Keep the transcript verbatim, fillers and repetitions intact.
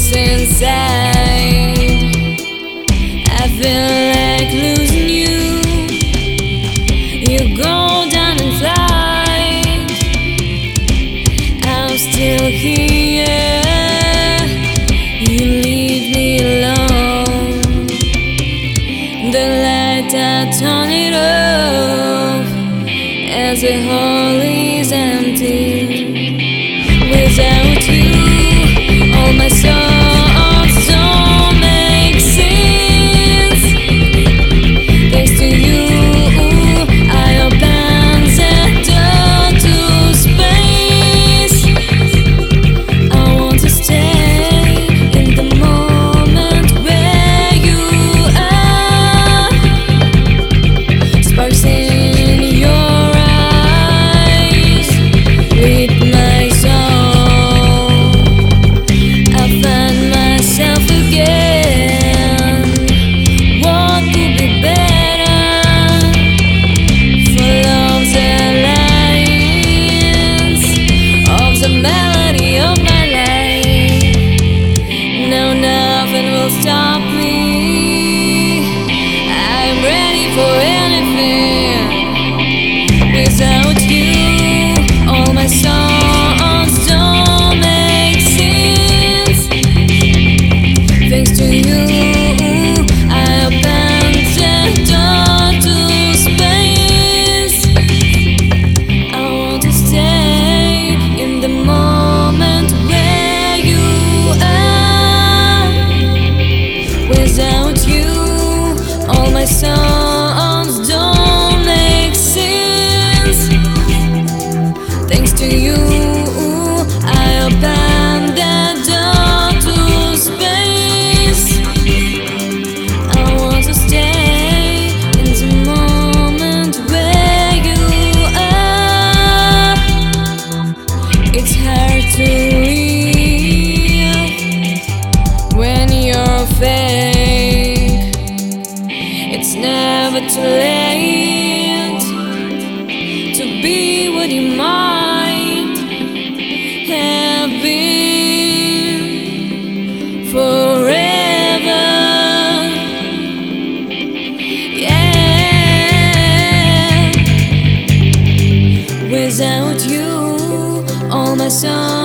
deepest inside. I feel like losing you. You go down in flight. I'm still here. You leave me alone. The light, I turn it off as the hall is empty. Without you, all my songs don't make sense. Thanks to you, I open the door to space. I want to stay in the moment where you are. Sparks in your eyes with my soul. I find myself again. What could be better? Full of the lines of the melody of my life. No, nothing will stop me. I'm ready for anything. Without you, all my songs don't make sense. Thanks to you, I opened the door to space. I want to stay in the moment where you are. Without you, all my songs don't make sense. Thanks to you, I opened the door to space. I want to stay in the moment where you are. It's hard to live when you're fake. It's never too late to be what you might have been forever. Yeah. Without you, all my songs